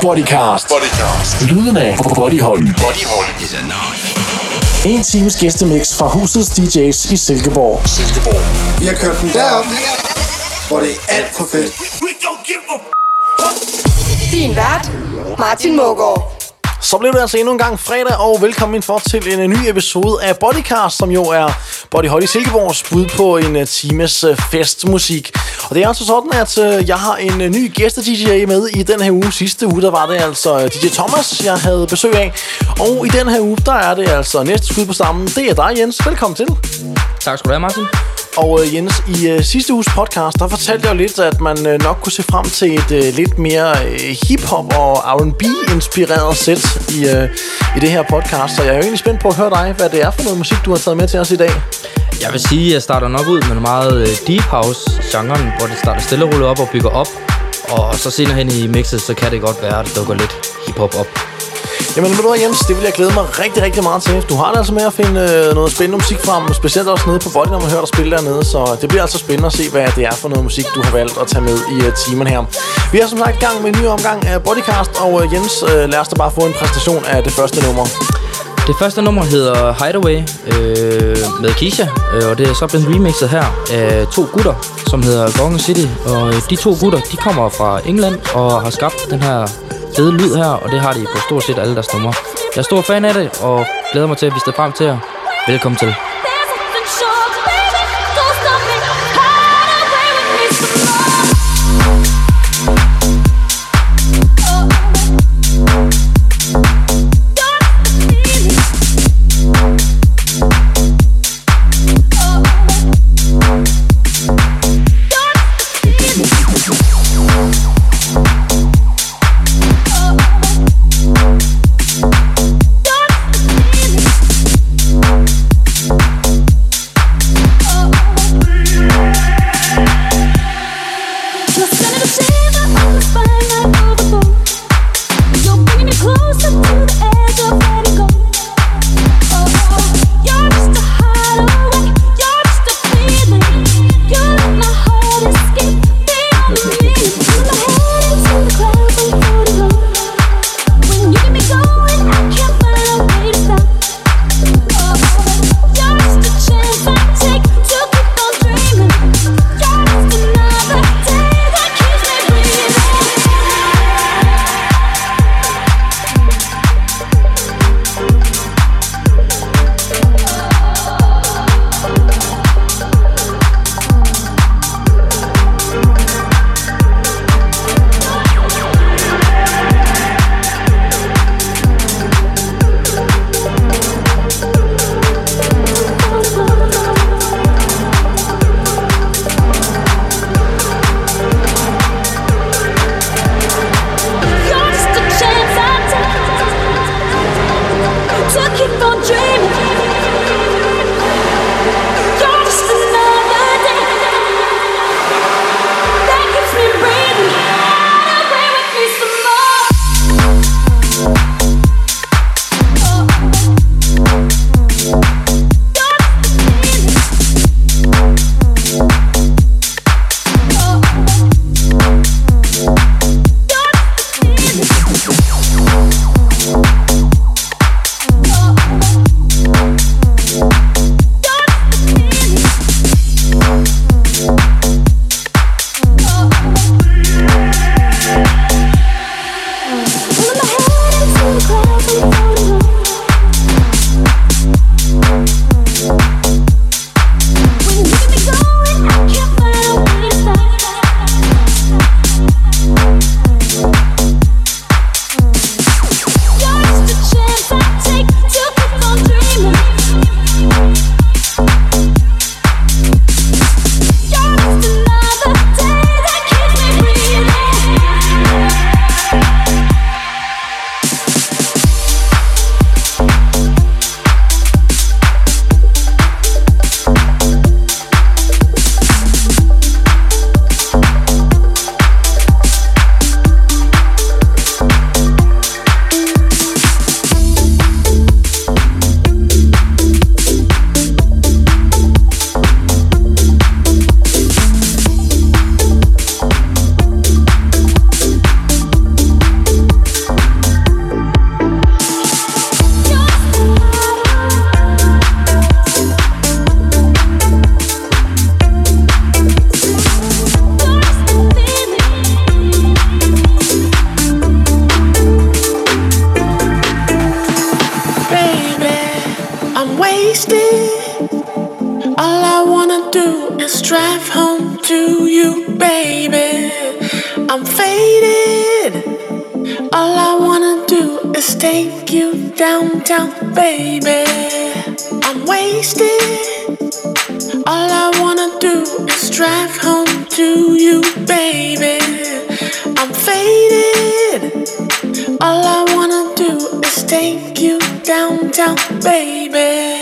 Bodycast. Lyden af Bodyhold. En times gæstemix fra husets DJ's i Silkeborg. Vi har kørt den derop, hvor det er alt for fedt. Din vært, Martin Mågaard. Så blev det altså endnu en gang fredag, og velkommen indenfor til en ny episode af Bodycast, som jo er Bodyhold i Silkeborgs bud på en times festmusik. Og det er altså sådan, at jeg har en ny gæste-DJ med i den her uge. Sidste uge, der var det altså DJ Thomas, jeg havde besøg af. Og i den her uge, der er det altså næste skud på stammen. Det er dig, Jens. Velkommen til. Tak skal du have, Martin. Og Jens, i sidste uges podcast, der fortalte jeg jo lidt, at man nok kunne se frem til et lidt mere hip-hop og R&B-inspireret sæt i det her podcast. Så jeg er jo egentlig spændt på at høre dig, hvad det er for noget musik, du har taget med til os i dag. Jeg vil sige, at jeg starter nok ud med meget deep house-genren, hvor det starter stille og roligt op og bygger op. Og så senere hen i mixet, så kan det godt være, at det dukker lidt hip-hop op. Jamen ved du hvad, Jens, det vil jeg glæde mig rigtig, rigtig meget til. Du har det altså med at finde noget spændende musik frem, specielt også nede på Body, når man hører dig spille dernede. Så det bliver altså spændende at se, hvad det er for noget musik, du har valgt at tage med i timen her. Vi er som sagt i gang med en ny omgang af Bodycast, og Jens, lad os da bare få en præstation af det første nummer. Det første nummer hedder Hideaway med Keisha, og det er så blevet remixet her af to gutter, som hedder Gong City. Og de to gutter, de kommer fra England og har skabt den her fede lyd her, og det har de på stort set alle deres numre. Jeg er stor fan af det, og glæder mig til at vise det frem til jer. Velkommen til. I'm faded. All I wanna do is take you downtown, baby. I'm wasted. All I wanna do is drive home to you, baby. I'm faded. All I wanna do is take you downtown, baby.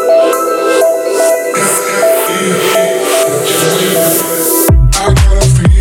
I got a feeling.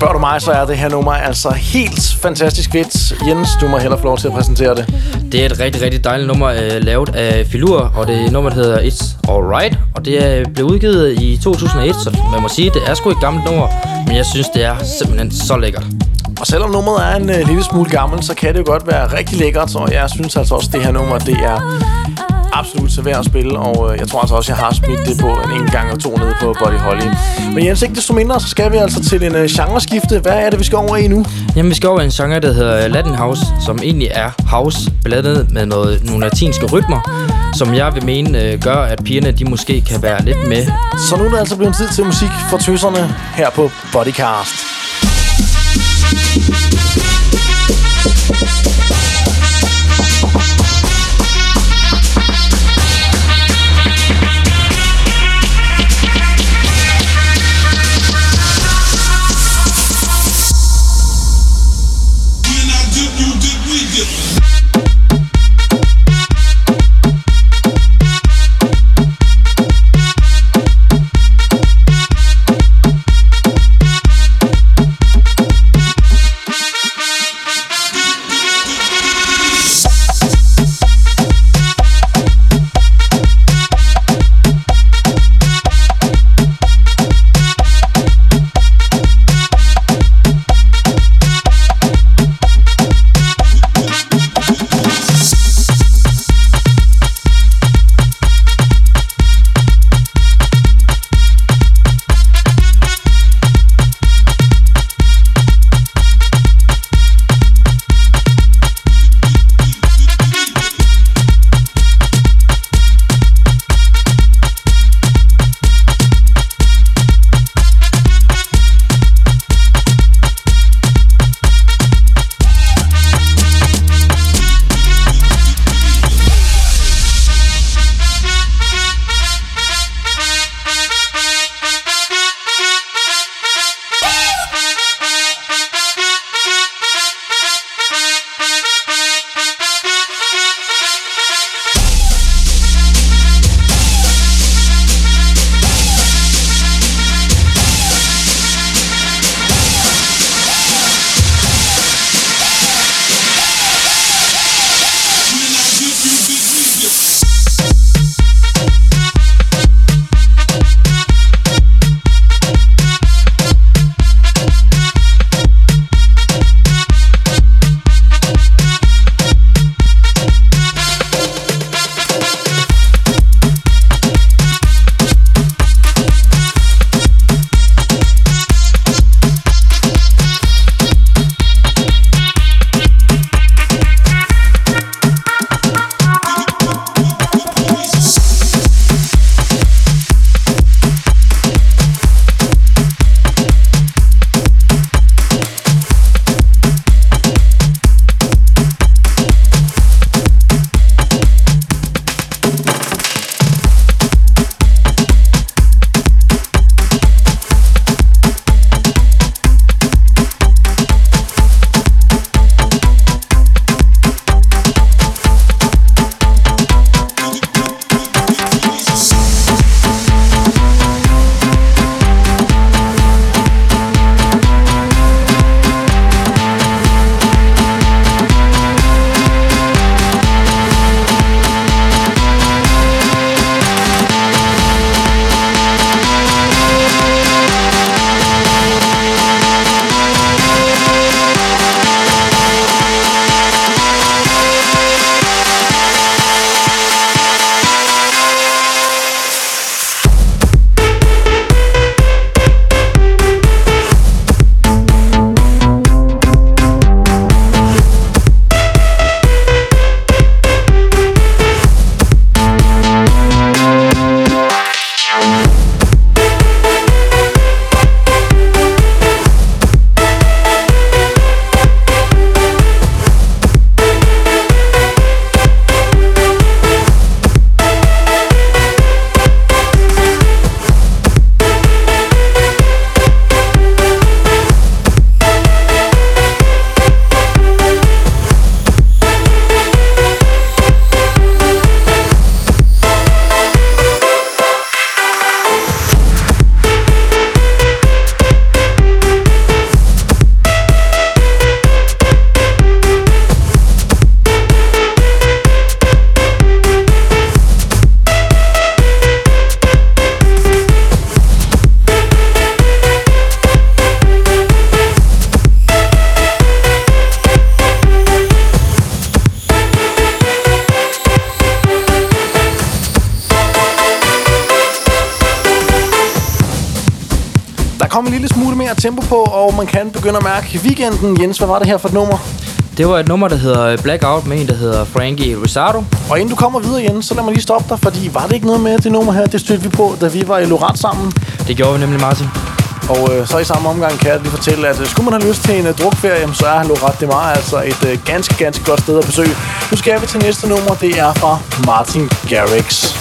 spørger du mig, så er det her nummer altså helt fantastisk fedt. Jens, du må hellere få lov til at præsentere det. Det er et rigtig, rigtig dejligt nummer, lavet af Filur, og det nummer hedder It's Alright, og det blev udgivet i 2001, så man må sige, det er sgu et gammelt nummer, men jeg synes, det er simpelthen så lækkert. Og selvom nummeret er en lille smule gammel, så kan det jo godt være rigtig lækkert, og jeg synes altså også, det her nummer, det er absolut så værd at spille, og jeg tror altså også, jeg har smidt det på en gang eller to nede på Buddy Holly. Men Jens, ikke desto mindre, så skal vi altså til en genreskifte. Hvad er det, vi skal over i nu? Jamen, vi skal over i en genre, der hedder Latin House, som egentlig er house, blandet med nogle latinske rytmer, som jeg vil mene gør, at pigerne de måske kan være lidt med. Så nu er det altså blevet tid til musik for tøserne her på Bodycast. kommet en lille smule mere tempo på, og man kan begynde at mærke weekenden. Jens, hvad var det her for et nummer? Det var et nummer, der hedder Blackout, med en, der hedder Frankie Risardo. Og inden du kommer videre, Jens, så lad mig lige stoppe dig, fordi var det ikke noget med det nummer her, det stødte vi på, da vi var i Lorette sammen? Det gjorde vi nemlig, Martin. Og så i samme omgang kan jeg lige fortælle, at skulle man have lyst til en drukferie, så er Lorette de Mar altså et ganske godt sted at besøge. Nu skal vi til næste nummer, det er fra Martin Garrix.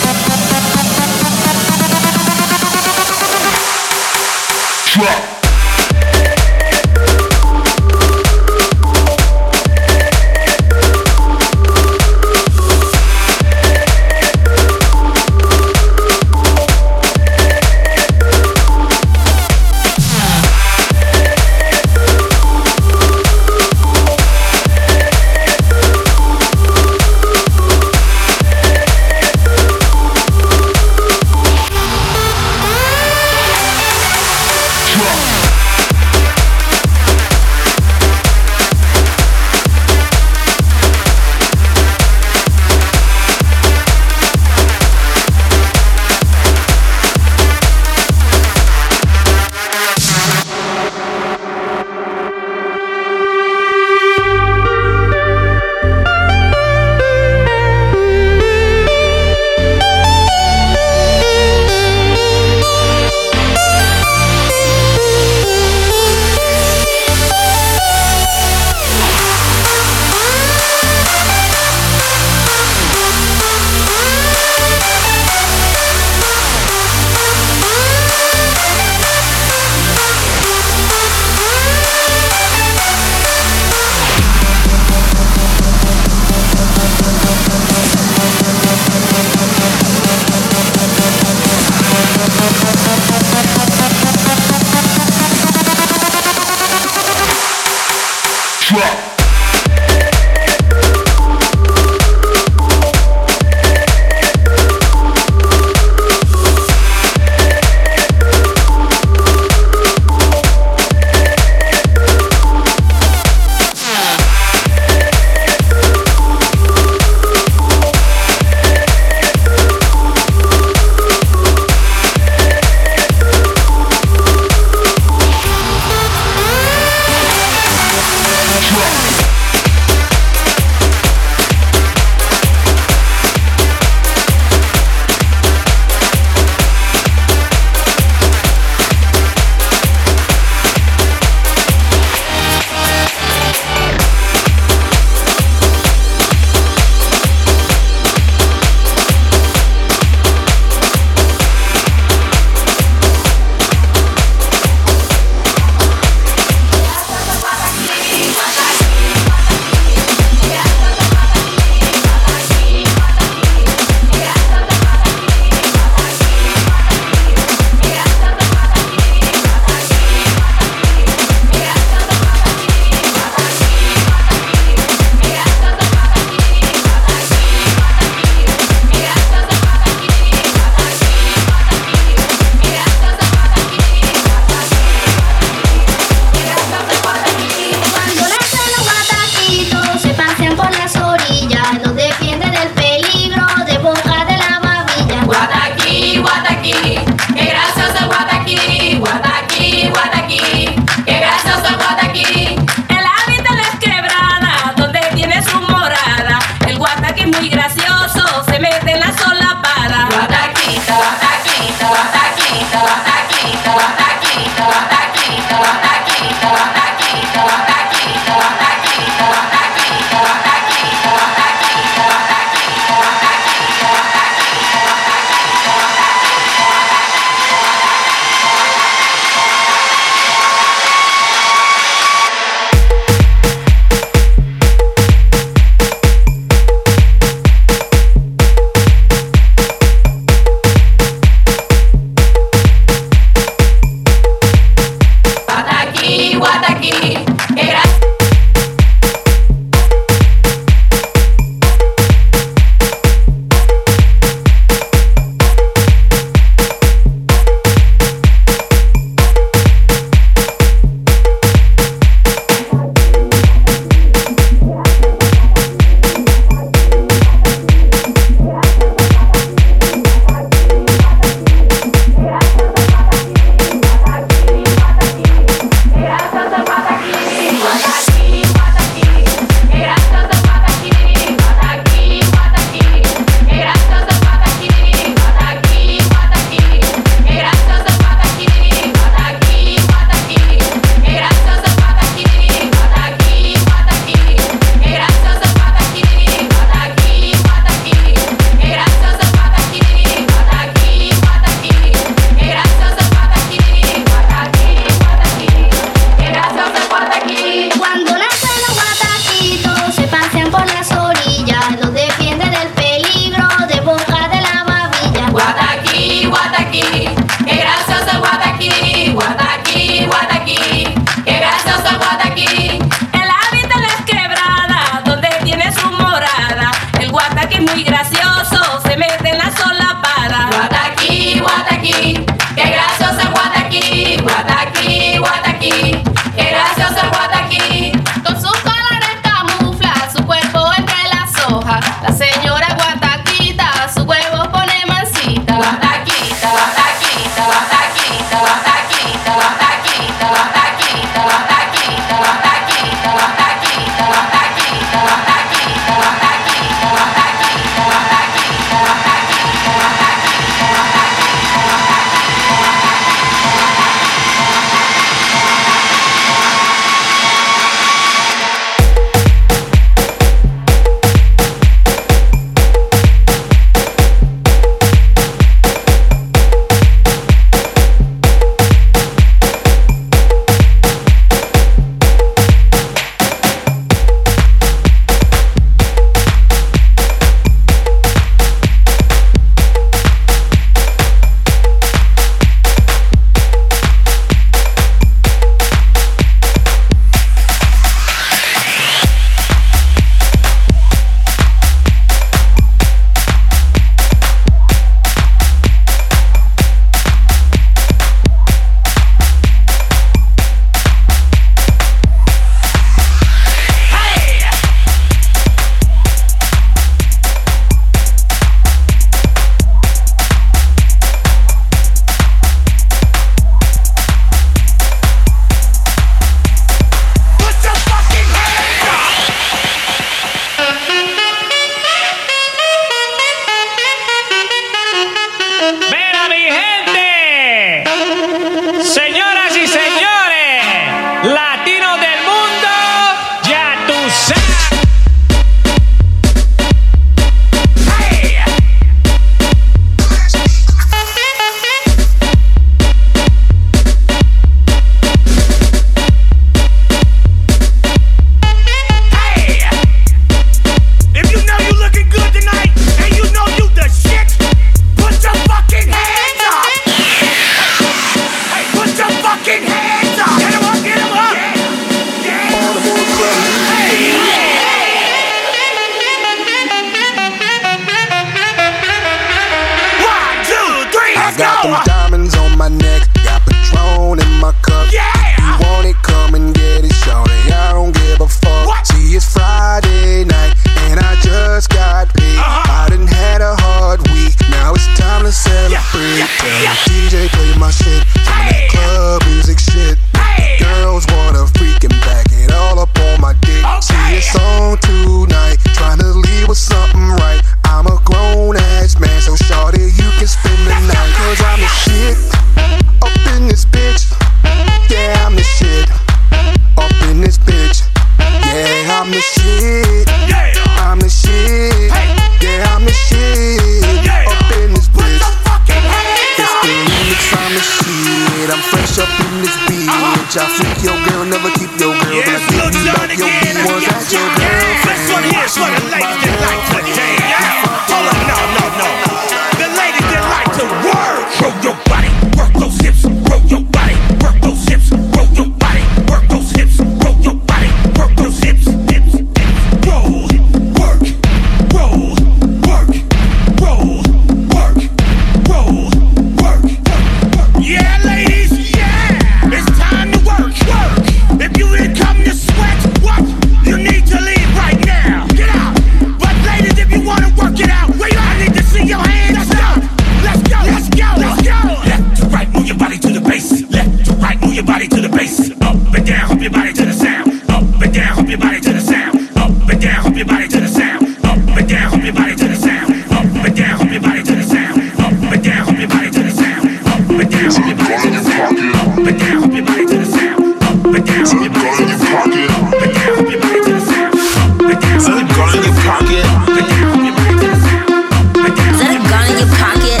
they play my shit. Some of that club music shit. Girls wanna freaking back it all up on my dick. See it's on tonight, trying to leave with something right. I'm a grown ass man, so shorty you can spend the night. Cause I'm the shit up in this bitch. Yeah, I'm the shit up in this bitch. Yeah, I'm the shit. I'm the shit. Yeah, I'm the shit up in this bitch. It's the remix, I'm the shit. I'm fresh up in this bitch. I freak your girl, never keep your girl. But I give you back your B1s, that's your girl. This one here's for the ladies that like to dance. Hold on, no. The ladies that like to work. Roll your body, work those hips. Roll your body, work those hips. Roll your body, work those hips. Roll your body, work those hips. Roll, work, roll, work, roll, work, roll, work. Yeah, ladies, yeah. It's time to work. If you didn't come to sweat, what? You need to leave right now. Get out. But ladies, if you want to work it out, wait, I need to see your hands. Let's go. Left to right, move your body to the bass. Left to right, move your body to the bass. Up and down, hump your body to the sound. Up and down, hump your body to the sound. Up and down, hump your body to the sound. Up and down, hump your body to the sound. Up and down, hump your body to the sound. Up and down, hump your body to the sound. Up and down, hump your body to the sound. Up and down, hump your body to the sound. Up and down, hump your body to the sound. Up and down, hump your body to the sound. Up and down, hump your body to the sound. Up and down, hump your body to the sound. Is that a gun in your pocket?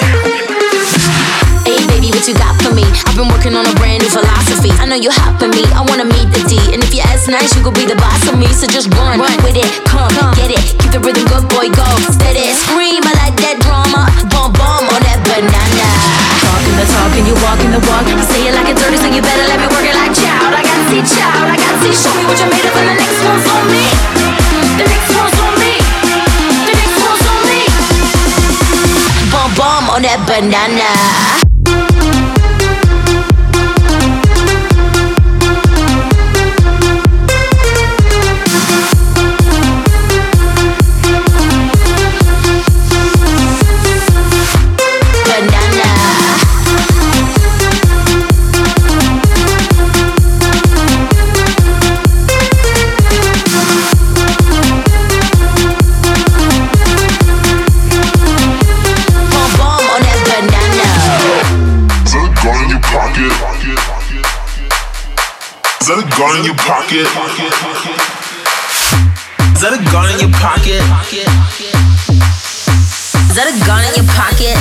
Hey baby, what you got for me? I've been working on a brand new philosophy. I know you hot for me, I wanna meet the D. And if you ask nice, you could be the boss of me. So just run with it, come get it. Keep the rhythm good, boy, go steady. Scream, I like that drama. Bum on that banana. Talking the talk and you walking the walk. I say it like it's dirty, so you better let me work it like child. I got to see, show me what you're made of, and the next one's on me. The next one's on me. The next one's on me. Bum on that banana. Is that a gun in your pocket? Is that a gun in your pocket? Is that a gun in your pocket?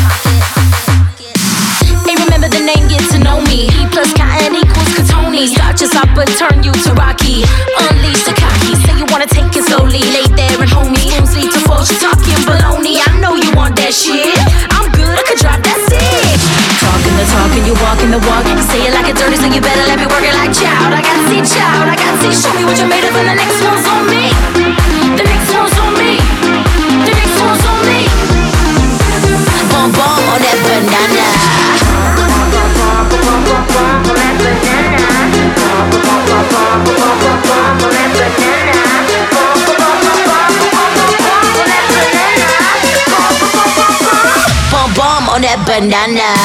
Hey, remember the name, get to know me. E plus cotton equals Katoni. Start your stop but turn you to Rocky. Unleash the cocky, say you wanna take it slowly. Lay there and hold me, spoons lead to fold. You talking baloney, I know you want that shit. I'm good, I could drop that sick. Talking the talk and you walking the walk. You say it like it's dirty, so you better let me work it like child. I got to see, show me what you're made of, and the next one's on me. The next one's on me. The next one's on me. Bum on that banana. Bum on that banana.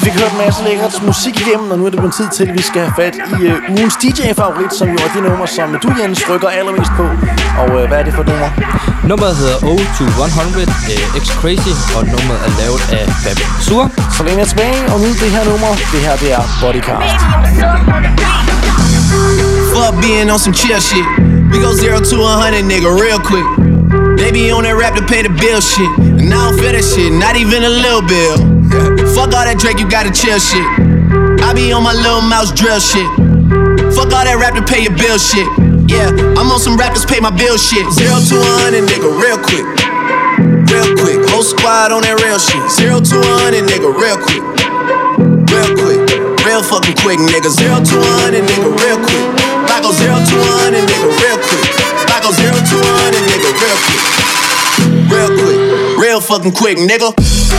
fik hørt en masse lækkert musik igennem, og nu er det blevet tid til, at vi skal have fat i ugens DJ-favorit, som jo er det nummer, som du, Jens, rykker allermest på. Og hvad er det for et nummer? Nummeret hedder O2 100 X Crazy, og nummeret er lavet af Fab Sur. Så længe jeg tilbage, og nu det her nummer. Det her, det er Bodycast. Fuck being on some chill shit. We go 0 to 100, nigga, real quick. They be on that rap to pay the bill shit, and I don't feel that shit, not even a little bill. Fuck all that Drake, you gotta chill shit. I be on my little mouse drill shit. Fuck all that rap to pay your bill shit. Yeah, I'm on some rappers pay my bill shit. 0 to 100, nigga, real quick. Real quick, whole squad on that real shit. 0 to 100, nigga, real quick. Real quick, real fucking quick, nigga. 0 to 100, nigga, real quick. I go 0 to 100, nigga, real quick. I go 0 to 100, nigga, real quick. Real quick, real fucking quick, nigga.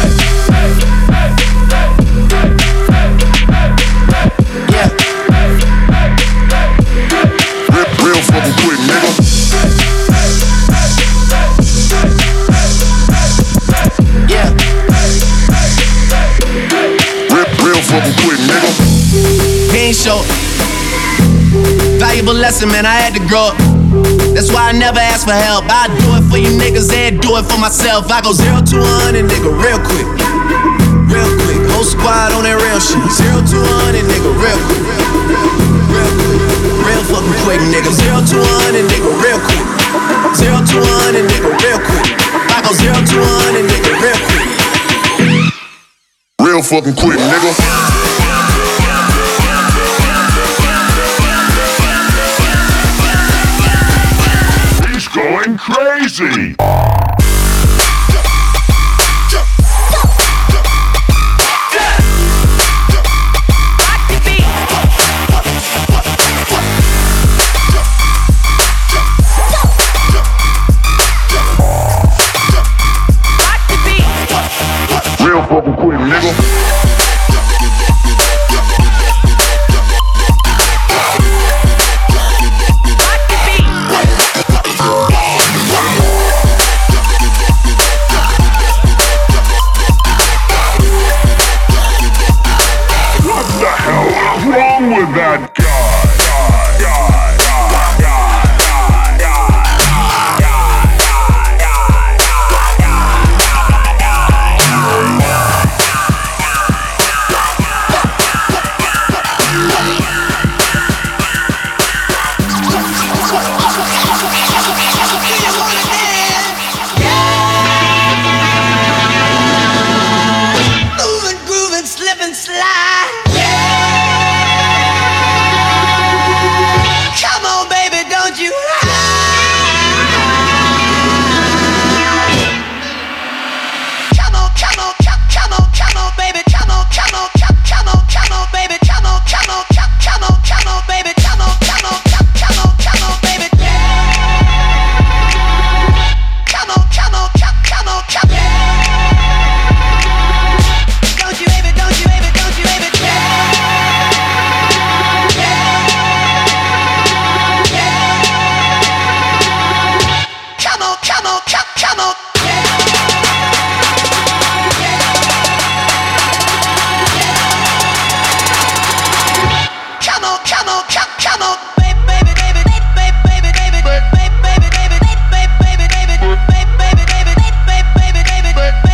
Yeah. Real fucking quick, nigga. Yeah. Real fucking quick, nigga. He ain't show. Valuable lesson, man, I had to grow up. That's why I never ask for help. I do it for you niggas and do it for myself. I go 0 to 100, nigga, real quick. Real quick, whole squad on that real shit. 0 to 100, nigga, real quick. Real quick, real fucking quick, nigga. 0 to 100, nigga, real quick. 0 to 100, nigga, real quick. I go 0 to 100, nigga, real quick. Real fucking quick, nigga. Going crazy. Real fucking quick, nigga. With that guy. Moving, grooving, slip and slide. Come on, baby, don't you come on, come on, come on, come on, baby, come on, come on, come on, come on, baby, come on, come on, come on, come on, baby, come on, come on, come on, come on, baby. Come on, come on, come on, come on. Don't you ever, don't you ever, don't you ever. Come on, come on, come on. Come on, come on, come on. Baby, baby, baby, baby, baby, baby, baby, baby, baby, baby, baby, baby, baby, baby, baby, baby,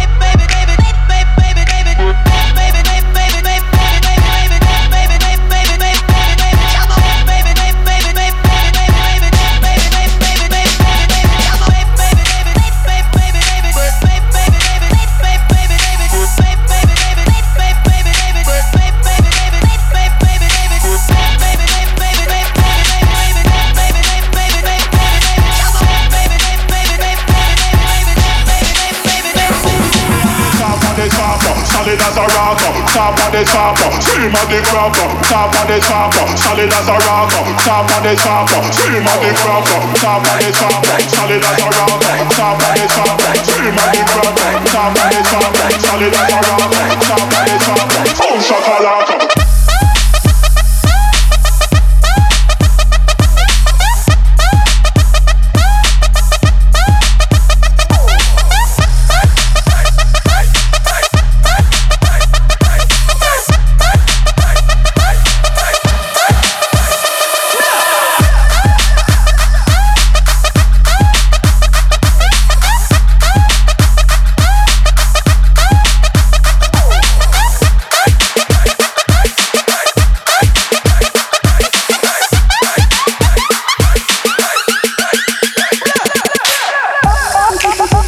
solid as a rocker. Top of the chopper, scream of the crapper. Top of the chopper, solid as a rocker. Top of the chopper, scream of the crapper. Top of the chopper, solid as a rocker. Top of the chopper, scream of the crapper. Top of the chopper, solid as a rocker. Top of the chopper, boom shakalaka.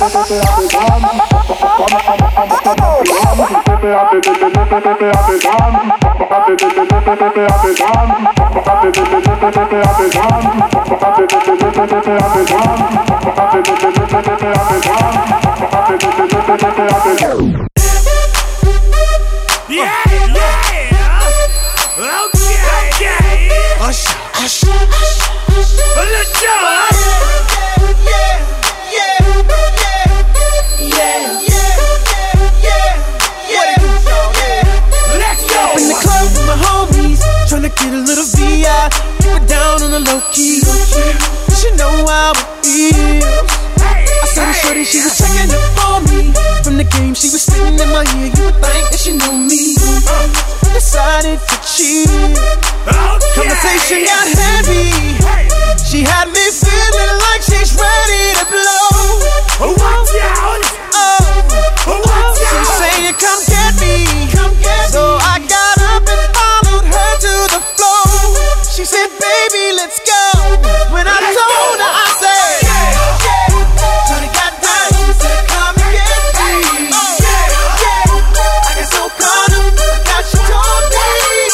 Get a little VI, keep it down on the low key. You should know how it feels. I saw the shorty, she was checking up on me. From the game, she was spitting in my ear. You would think that she knew me. Decided to cheat. Conversation got heavy. She had me feeling like she's ready to blow. Watch out! She's saying, come get me. So I got up and followed her to the floor. She said, baby, let's go. When I told her, I said, Shorty got down, she said, come and get me. I got so caught up, I got she told me.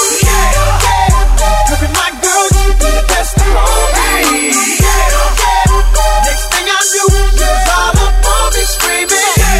Look at my girl, you be the best of all me. Next thing I knew, she was all up on me screaming.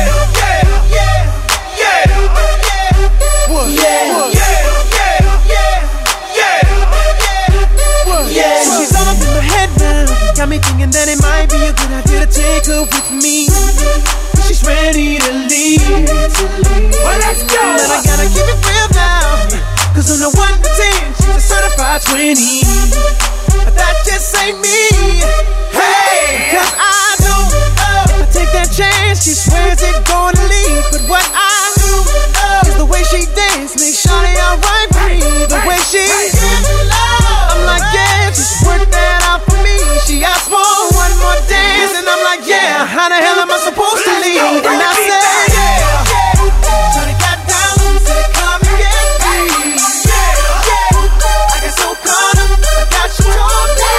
Got me thinking that it might be a good idea to take her with me. She's ready to leave. Well, let's go. But I gotta keep it real now, cause on the 1 to 10, she's a certified 20. But that just ain't me. Hey, cause I know if I take that chance, she swears it's gonna leave. But what I do is the way she dance makes Shawty alright with me. The way she I'm like, yeah, just work that out for me. She asked for one more dance, and I'm like, yeah, how the hell am I supposed to leave? And I said, Shawty got down, said, come and get me. I got so caught up, I got you told me.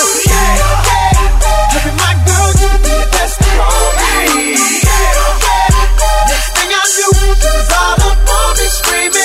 Look at my girl, you be the best of all me. Next thing I knew, she was all up on me screaming.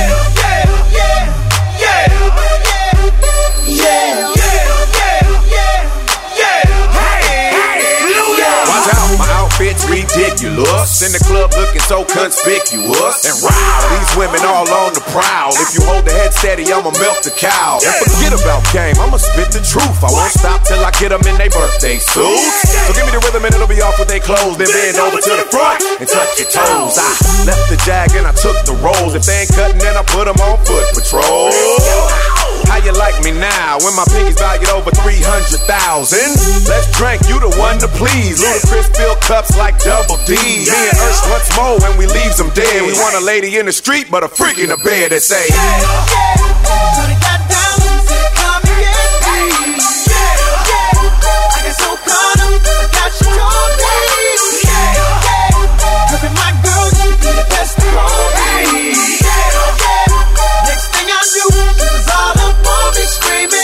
Bitch ridiculous. In the club looking so conspicuous. And wow, these women all on the prowl. If you hold the head steady, I'ma milk the cow. And forget about game, I'ma spit the truth. I won't stop till I get them in their birthday suits. So give me the rhythm and it'll be off with their clothes. Then bend over to the front and touch your toes. I left the jag and I took the rolls. If they ain't cutting, then I put them on foot patrol. How you like me now when my pinky's valued over 300,000? Let's drink, you the one to please. Ludacris fill cups like Double D. Me and Ursh once more when we leaves them dead. We want a lady in the street but a freak in the bed that say Shorty got down, said come and get me. I got so caught up, I got you told me. Look at my girl, you be the best of all me. Next thing I knew, she was all up on me screaming.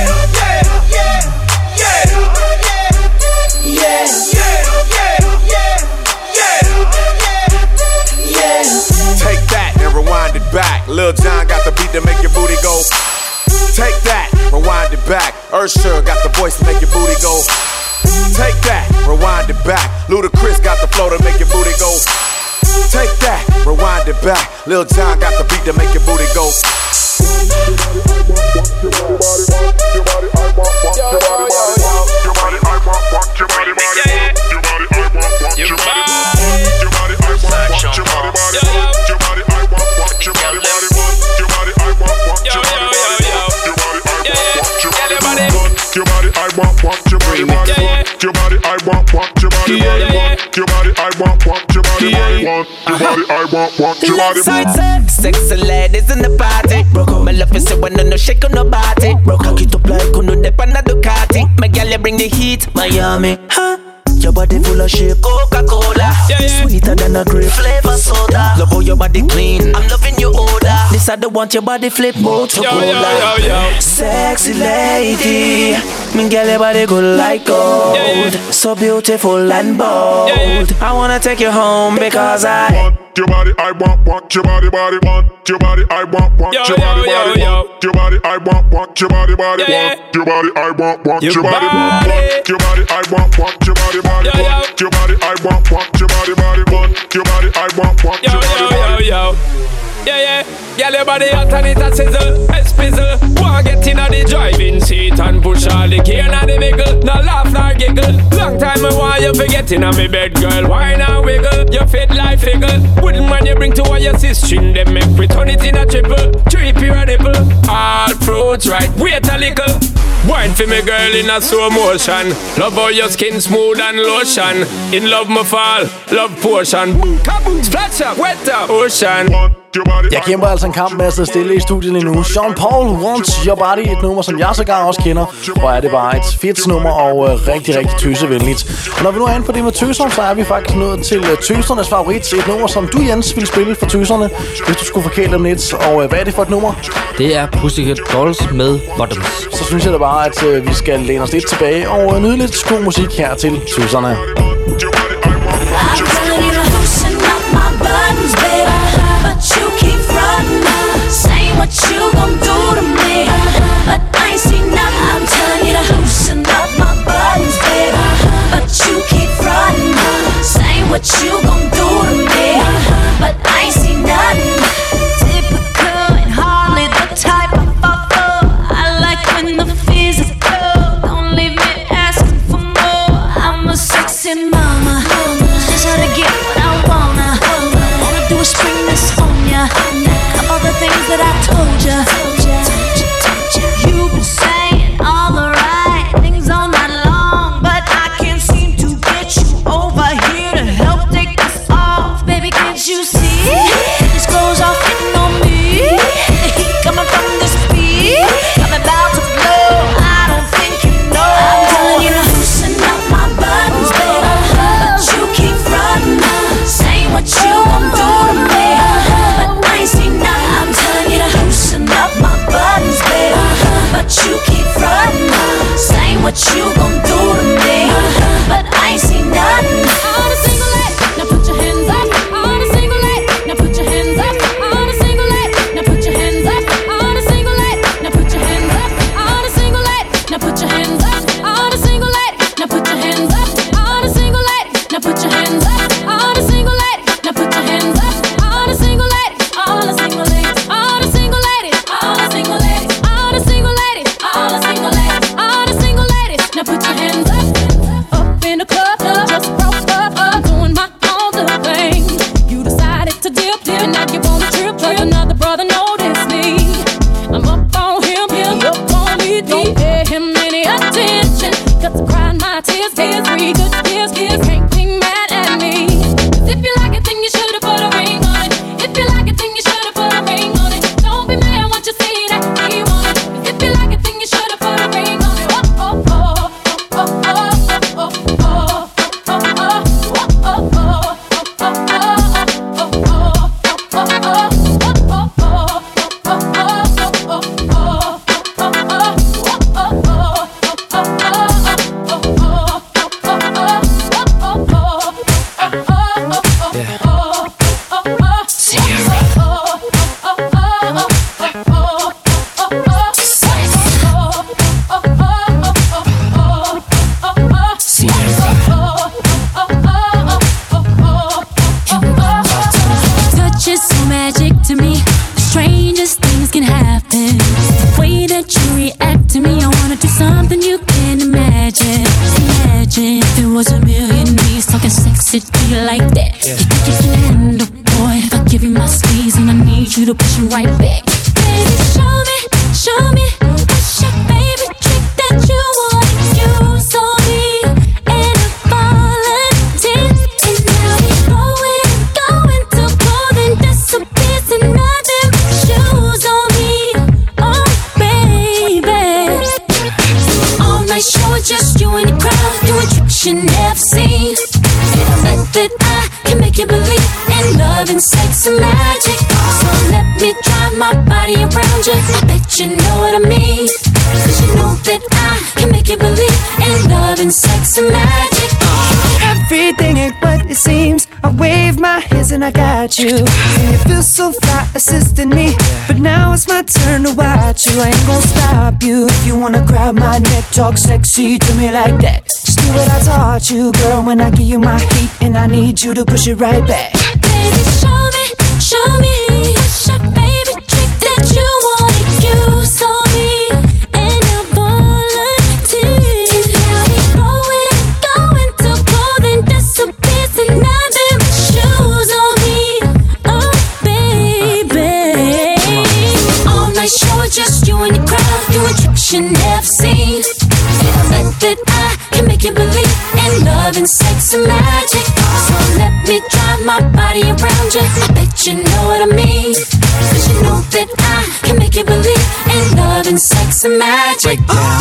Take that and rewind it back. Lil Jon got the beat to make your booty go. Take that, rewind it back. Usher got the voice to make your booty go. Take that, rewind it back. Ludacris got the flow to make your booty go. Take that, rewind it back. Lil Jon got the beat to make your booty go. Your body, I want your body, your body, I want your body, your body, I want your body, your body, I want your body. Sexy ladies in the party. My love is so when no shake on nobody. Cock it up like uno de pana Ducati. My gal, you bring the heat, Miami. Huh? Your your body full of shape. Coca-Cola, sweeter than a grape. Flavor soda, love how your body clean. I'm loving your odor. This I don't want your body flip Motorola. Sexy lady, me girl your body good like gold. So beautiful and bold. I wanna take you home because I want your body, I want your body, want your body, I want your body, want your body, I want your body, want your body, I want your body, want your body, I want your body, want your body, I want your body, want your body, I want your body. Yeah, girl, your body hot and it a sizzle, espizzle. Wanna get in the driving seat and push all the gear in the vehicle. No laugh nor giggle. Long time I want you forget in me bed, girl. Why not wiggle? You fit like figgle. Wouldn't man you bring to all your sister, them make we turn it in a triple. Trippy a nipple. All fruits right, wait a little. Wine for me girl in a slow motion. Love how your skin smooth and lotion. In love me fall, love potion. Boom, kaboom, splash up, wet up, ocean. Jeg kæmper altså en kamp med at sidde stille i studiet lige nu. Sean Paul, Wants Your Body, et nummer, som jeg sågar også kender. Og er det bare et fedt nummer og rigtig, rigtig tøsevenligt. Og når vi nu er inde på det med tøser, så er vi faktisk nået til tøsernes favorit. Et nummer, som du, Jens, ville spille for tøserne, hvis du skulle forkæle dem lidt. Og hvad er det for et nummer? Det er Pussycat Dolls med Bottoms. Så synes jeg da bare, at vi skal læne os lidt tilbage og nyde lidt god musik her til tøserne. You keep frontin', saying what you gon' do to me, but I ain't seen nothing. I'm telling you to loosen up my buttons, baby, but you keep frontin', saying what you gon' do to me, but I ain't seen nothing. Typical and hardly the type I fall for. I like when the physical, don't leave me asking for more. I'm a sexy mama, just how to get what I wanna. Wanna do is spring this on ya. All the things that I told ya. You've been saying all the right things all night long, but I can't seem to get you over here to help take this off. Baby, can't you see? This clothes off hitting on me. The heat coming from this beat, I'm about to blow. I don't think you know. I'm telling you to loosen up my buttons, baby, but you keep frontin', saying what you gon' do to me, but I ain't seen nothing. I'm telling you to loosen up my buttons, baby, but you keep frontin', saying what you gon' do to me, but I ain't seen nothing. All the single ladies, now put your hands up. All the single ladies, now put your hands up. All the single ladies, now put your hands up. All the single ladies, now put your hands up. All the single ladies, now put your hands up. All the single ladies, now put your hands up. All the single ladies, now put your hands up. All the single ladies, now put your hands up. All the single ladies, all the single ladies, all the single ladies, all the single ladies, all the single ladies, all the single ladies, all the single ladies. Now put your hands up. Up in the club, just broke up, doing my own little thing. You decided to dip, and now you want a trip, 'cause another brother noticed me. I'm up on him, up on me. Don't pay him any attention, 'cause I cried my tears, 3 good years, can't be mad at me. 'Cause if you like it, then you should've put a ring on it. If you like it, then you should've put a ring on it. Don't be mad once you see that he want it. 'Cause if you like it, then you should've put a ring on it. Oh, oh, oh, oh, oh, oh, oh, oh, oh, oh, oh, touch is so magic to me. The strangest things can happen. The way that you react to me, I wanna do something you can't imagine. Imagine if it was a million knees talking sexy to you like that. You think you can handle, boy, if I give you my squeeze and I need you to push me right back. Baby, show me, what's your favorite trick that you want to use on me? And I'm falling, and now we're going to cold and disappears and nothing but shoes on me. Oh, baby. All night show, just you and the crowd, doing tricks you never seen. that I can make you believe in love and sex and magic. So let me drive my body around you. I bet you know what I mean. Cause you know that I can make you believe in love and sex and magic. Everything ain't what it seems. I wave my hands and I got you. And you feel so fly assisting me. But now it's my turn to watch you. I ain't gon' stop you. If you wanna grab my neck, talk sexy to me like that. Just do what I taught you, girl, when I give you my heat. And I need you to push it right back. Baby, show me what's your favorite trick that you wanna use on me. And I'll volunteer. And how we roll it and going to cold and disappears. And nothing but shoes on me. Oh, baby. All night show, just you and your crowd. Doing tricks you never seen. And I bet that I can make you believe in love and sex and magic. So let me drive my body around you. I bet you know what I mean. Cause you know that I can make you believe in love and sex and magic.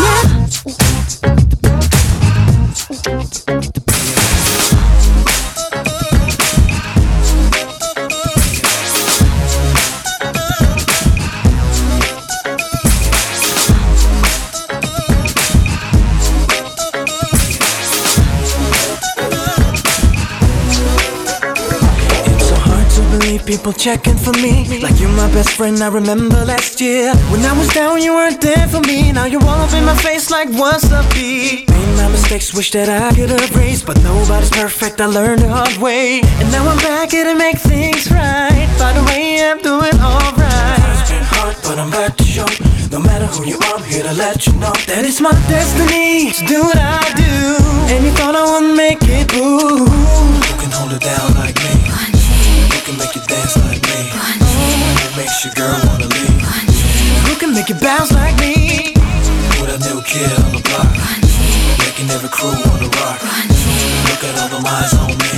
People checking for me like you're my best friend. I remember last year when I was down, you weren't there for me. Now you're all up in my face like what's up, B? Made my mistakes, wish that I could erase, but nobody's perfect, I learned the hard way. And now I'm back here to make things right. By the way, I'm doing alright. It's been hard, but I'm back to show. No matter who you are, I'm here to let you know that it's my destiny to do what I do. And you thought I wouldn't make it, boo. Who can hold it down like me? Who can make you dance like me? Who makes your girl wanna leave? Who can make you bounce like me? With a new kid on the block, making every crew wanna rock. Look at all the eyes on me.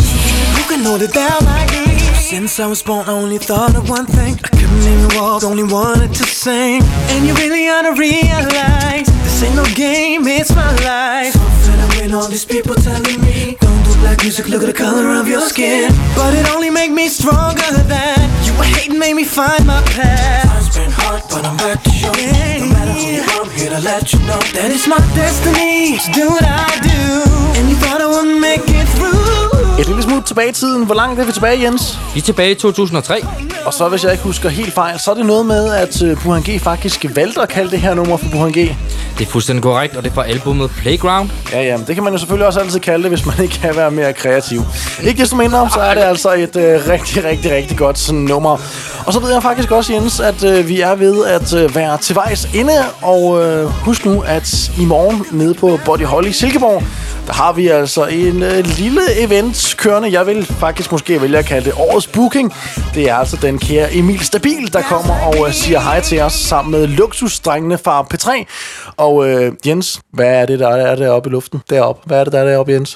Who can hold it down like me? Since I was born, I only thought of one thing. I couldn't even walk, only wanted to sing. And you really ought to realize this ain't no game, it's my life. So fed up with all these people telling me don't do black music, look at the color of your skin. But it only make me stronger than you were hating, made me find my path. Time's been hard, but I'm back to show. No matter who you are, I'm here to let you know that it's my destiny to do what I do. And you thought I wouldn't make it through. Et lille smut tilbage i tiden. Hvor langt er vi tilbage, Jens? Vi er tilbage i 2003. Og så, hvis jeg ikke husker helt fejl, så er det noget med, at Burhan G faktisk valgte at kalde det her nummer for Burhan G. Det er fuldstændig korrekt, og det er fra albumet Playground. Ja, det kan man jo selvfølgelig også altid kalde det, hvis man ikke kan være mere kreativ. Ikke desto mindre, så er det altså et rigtig godt sådan nummer. Og så ved jeg faktisk også, Jens, at vi er ved at være til vejs inde. Og husk nu, at i morgen nede på Body Holly i Silkeborg, der har vi altså en lille event kørende. Jeg vil faktisk måske vælge at kalde det årets booking. Det er altså den kære Emil Stabil, der kommer og siger hej til os sammen med luksusdrengene fra P3. Og Jens, hvad er det, der er deroppe i luften? Deroppe. Hvad er det, der er deroppe, Jens?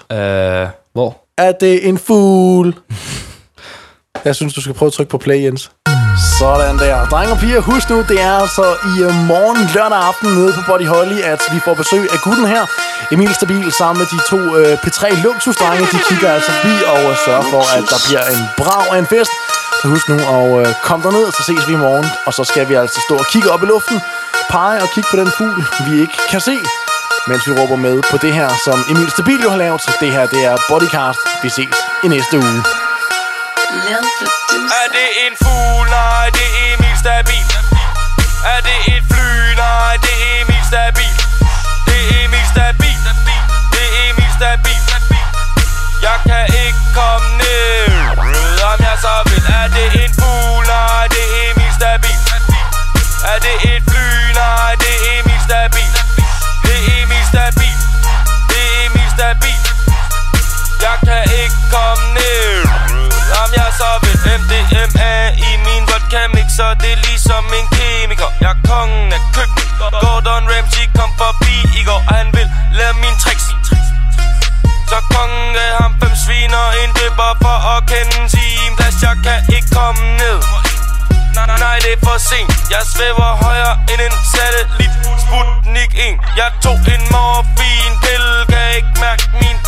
Hvor? Er det en fugl? Jeg synes, du skal prøve at trykke på play, Jens. Sådan der. Drenge og piger, husk nu, det er altså i morgen lørdag aften nede på Body Holly, at vi får besøg af gutten her, Emil Stabil, sammen med de to P3 luksusdrenge. De kigger altså forbi og sørger for, at der bliver en brav af en fest. Så husk nu at komme derned, så ses vi i morgen. Og så skal vi altså stå og kigge op i luften, pege og kigge på den fugl, vi ikke kan se, mens vi råber med på det her, som Emil Stabil jo har lavet. Så det her, det er Bodycast. Vi ses i næste uge. Er det en fugl? Nej, det er Emil Stabil. Er det et fly? Nej, det er Emil Stabil. Det er Emil Stabil. Det er Emil Stabil. Jeg kan ikke komme ned, om jeg så vil. Er det en fugl? Nej, det er Emil Stabil. Er det et fly? Nej, det er Emil Stabil. Det er Emil Stabil. Det er Emil Stabil. Jeg kan ikke komme ned, om jeg så vil. MDMA i min vodka mixer, det er ligesom en kemiker. Jeg er kongen af køkken. Gordon Ramsay kom forbi i går, og han vil lave mine tricks. Så kongen gav ham 5 svin og en dipper for at kende en timeplads. Jeg kan ikke komme ned. Nej, det er for sent. Jeg svæver højere end en satellit. Sputnik 1. Jeg tog en morfinpille, kan ikke mærke min ben.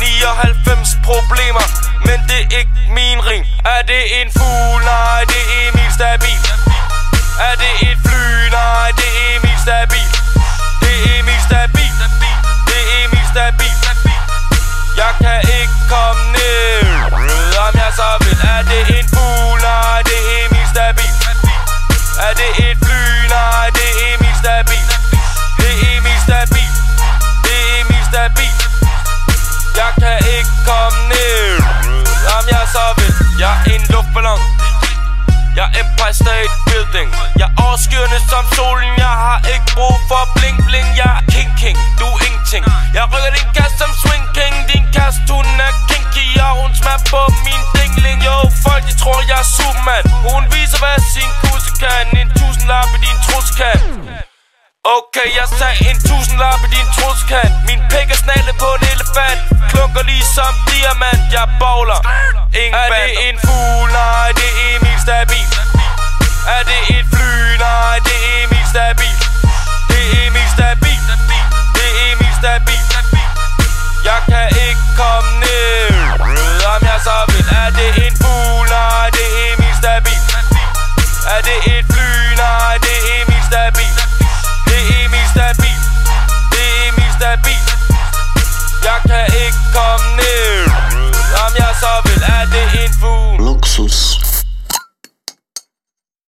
99 problemer, men det er ikke min ring. Er det en fugl? Nej, det er Emil Stabil. Er det et fly? Nej, det er Emil Stabil. Det er Emil Stabil. Det er Emil Stabil. Jeg kan ikke komme ned, om jeg så vil. Er det en fugl? Nej, det er Emil Stabil. Er det et fly? Nej, det er Emil Stabil. Det er Emil Stabil. Det er Emil Stabil. Jeg kan ikke komme ned, om jeg så vil. Jeg er en luftballon. Jeg er Empire State Building. Jeg er overskyerne som solen. Jeg har ikke brug for bling bling. Jeg er king, du er ingenting. Jeg rykker din kast som swing king. Din kast, hun er kinky, og hun smager på min dingling. Jo, folk de tror jeg er Superman. Hun viser hvad sin kusse kan. En 1000-lap i din truskan. Okay, jeg sagde en 1000-lap i din truskan. Min pik er snallet på en elefant. Klunker lige som diamant. Jeg bowler. Er det en fugl? Nej, det er Emil Stabil. Er det et fly? Nej, det er Emil Stabil. Det er Emil Stabil. Det er Emil Stabil. Jeg kan ikke komme ned, om jeg så vil. Er det en fugl? Nej, det er Emil Stabil. Er det et